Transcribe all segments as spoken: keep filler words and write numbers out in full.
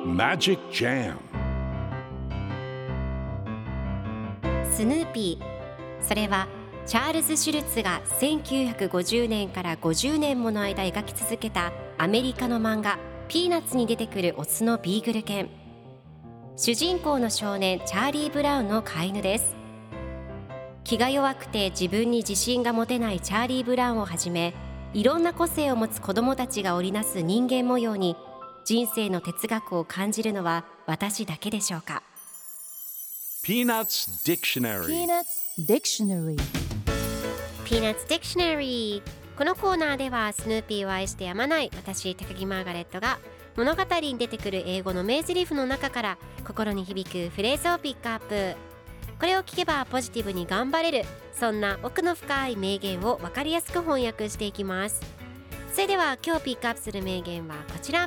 Magic Jam スヌーピー、それはチャールズ・シュルツがせんきゅうひゃくごじゅうねんからごじゅうねんもの間描き続けたアメリカの漫画ピーナッツに出てくるオスのビーグル犬。主人公の少年チャーリー・ブラウンの飼い犬です。気が弱くて自分に自信が持てないチャーリー・ブラウンをはじめ、いろんな個性を持つ子どもたちが織りなす人間模様に人生の哲学を感じるのは私だけでしょうか。 Peanuts Dictionary Peanuts Dictionary Peanuts Dictionary。 このコーナーではスヌーピーを愛してやまない私高木マーガレットが物語に出てくる英語の名台詞の中から心に響くフレーズをピックアップ。これを聞けばポジティブに頑張れる、そんな奥の深い名言を分かりやすく翻訳していきます。それでは今日ピックアップする名言はこちら。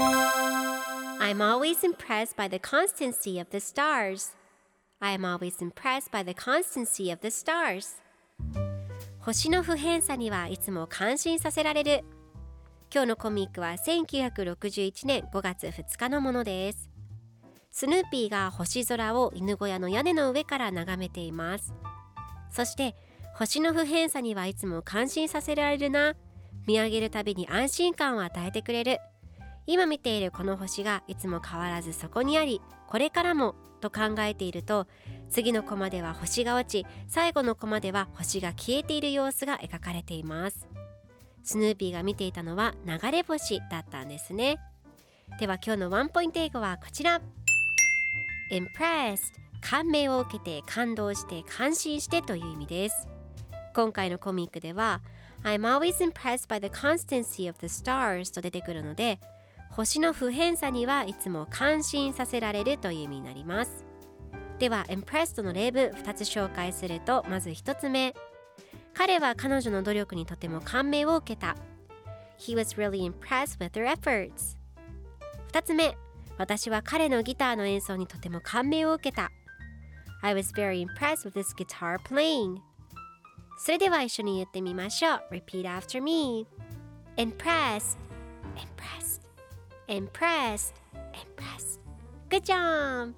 I'm always impressed by the constancy of the stars. I'm always impressed by the constancy of the stars. 星の不変さにはいつも感心させられる。今日のコミックはせんきゅうひゃくろくじゅういちねんごがつふつかのものです。スヌーピーが星空を犬小屋の屋根の上から眺めています。そして星の不変さにはいつも感心させられるな、見上げるたびに安心感を与えてくれる、今見ているこの星がいつも変わらずそこにあり、これからもと考えていると、次のコマでは星が落ち、最後のコマでは星が消えている様子が描かれています。スヌーピーが見ていたのは流れ星だったんですね。では今日のワンポイント英語はこちら。 Impressed、 感銘を受けて、感動して、感心してという意味です。今回のコミックでは I'm always impressed by the constancy of the stars と出てくるので、星の不変さにはいつも感心させられるという意味になります。では impressed の例文ふたつ紹介すると、まずひとつめ、彼は彼女の努力にとても感銘を受けた。 He was really impressed with her efforts。 ふたつめ、私は彼のギターの演奏にとても感銘を受けた。 I was very impressed with his guitar playing。 それでは一緒に言ってみましょう。 Repeat after me。 Impressed Impressed Impressed Impressed。 Good job。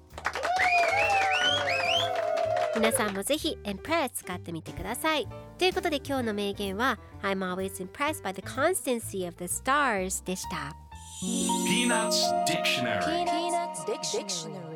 皆さんもぜひ Impressed 使ってみてください。ということで今日の名言は I'm always impressed by the constancy of the stars でした。 Peanuts Dictionary Peanuts Dictionary